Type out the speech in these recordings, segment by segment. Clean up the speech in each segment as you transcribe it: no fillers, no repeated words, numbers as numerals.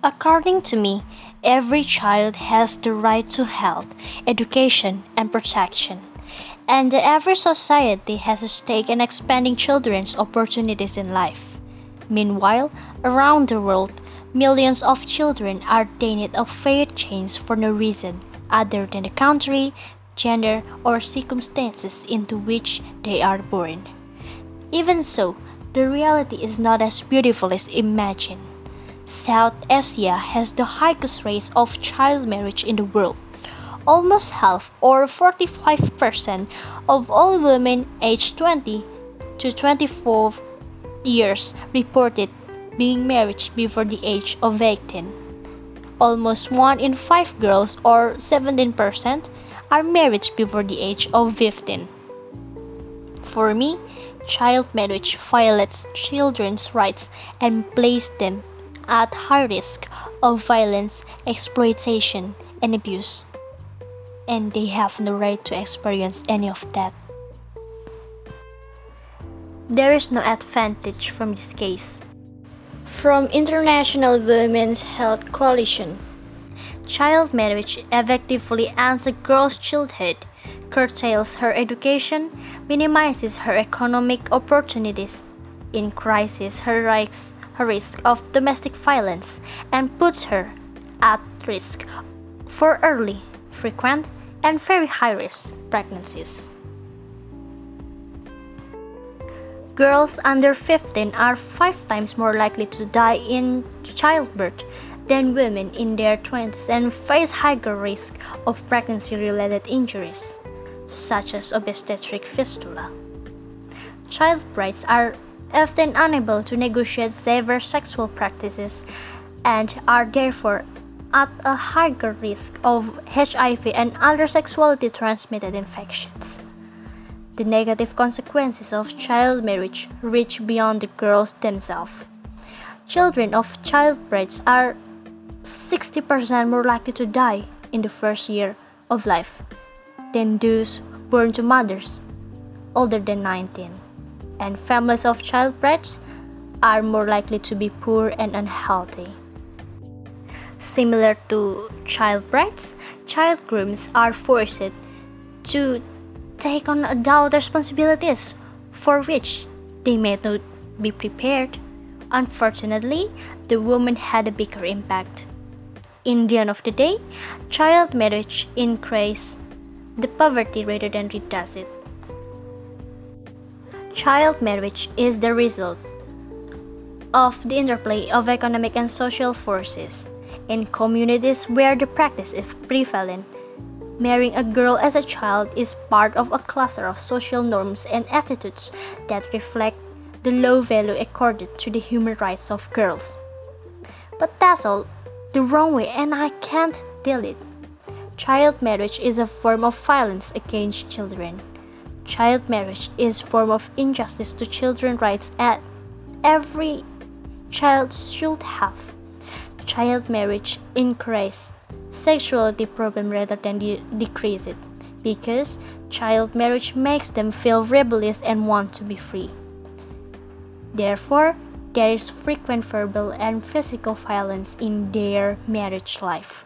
According to me, every child has the right to health, education, and protection. And every society has a stake in expanding children's opportunities in life. Meanwhile, around the world, millions of children are denied a fair chance for no reason other than the country, gender, or circumstances into which they are born. Even so, the reality is not as beautiful as imagined. South Asia has the highest rates of child marriage in the world. Almost half, or 45%, of all women aged 20 to 24 years reported being married before the age of 18. Almost 1 in 5 girls, or 17%, are married before the age of 15. For me, child marriage violates children's rights and places them at high risk of violence, exploitation, and abuse. And they have no right to experience any of that. There is no advantage from this case. From International Women's Health Coalition, child marriage effectively ends a girl's childhood, curtails her education, minimizes her economic opportunities, increases her risk of domestic violence, and puts her at risk for early, frequent, and very high-risk pregnancies. Girls under 15 are 5 times more likely to die in childbirth than women in their 20s and face higher risk of pregnancy-related injuries, such as obstetric fistula. Child brides are often unable to negotiate safer sexual practices and are therefore at a higher risk of HIV and other sexually transmitted infections. The negative consequences of child marriage reach beyond the girls themselves. Children of child brides are 60% more likely to die in the first year of life than those born to mothers older than 19. And families of child brides are more likely to be poor and unhealthy. Similar to child brides, child grooms are forced to take on adult responsibilities for which they may not be prepared. Unfortunately, the woman had a bigger impact. In the end of the day, child marriage increases the poverty rather than reduces it. Child marriage is the result of the interplay of economic and social forces. In communities where the practice is prevalent, marrying a girl as a child is part of a cluster of social norms and attitudes that reflect the low value accorded to the human rights of girls. But that's all the wrong way, and I can't deal it. Child marriage is a form of violence against children. Child marriage is a form of injustice to children's rights that every child should have. Child marriage increases sexuality problem rather than decrease it, because child marriage makes them feel rebellious and want to be free. Therefore, there is frequent verbal and physical violence in their marriage life.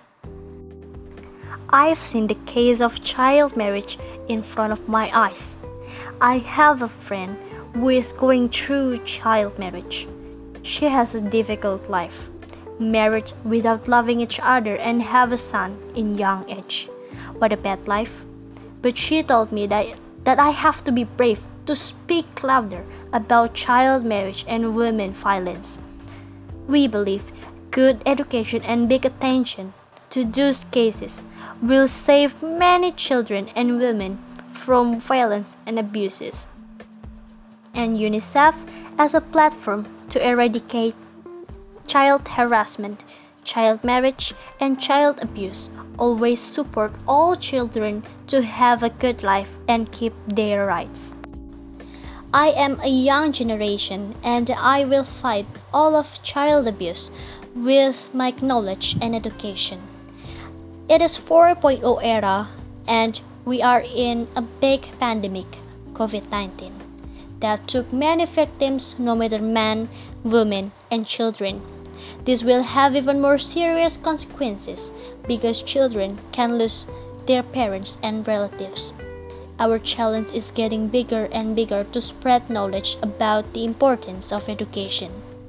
I've seen the case of child marriage in front of my eyes. I have a friend who is going through child marriage. She has a difficult life, married without loving each other and have a son in young age. What a bad life. But she told me that I have to be brave to speak louder about child marriage and women violence. We believe good education and big attention to those cases will save many children and women from violence and abuses. And UNICEF as a platform to eradicate child harassment, child marriage, and child abuse always support all children to have a good life and keep their rights. I am a young generation and I will fight all of child abuse with my knowledge and education. It is 4.0 era and we are in a big pandemic, COVID-19, that took many victims, no matter men, women, and children, This will have even more serious consequences because children can lose their parents and relatives. Our challenge is getting bigger and bigger to spread knowledge about the importance of education.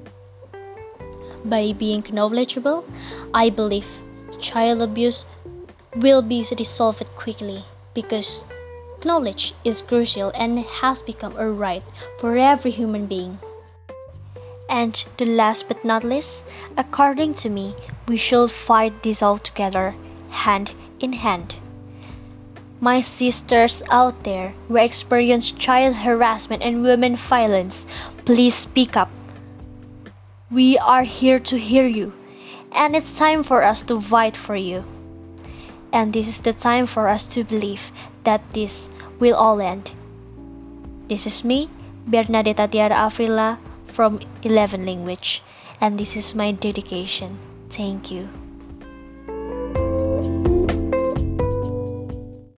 By being knowledgeable, I believe child abuse will be resolved quickly because knowledge is crucial and has become a right for every human being. And the last but not least, according to me, we should fight this all together, hand in hand. My sisters out there who experience child harassment and women violence, please speak up. We are here to hear you, and it's time for us to fight for you. And this is the time for us to believe that this will all end. This is me, Bernadetta Tiara Afrila from 11 Language, and this is my dedication. Thank you.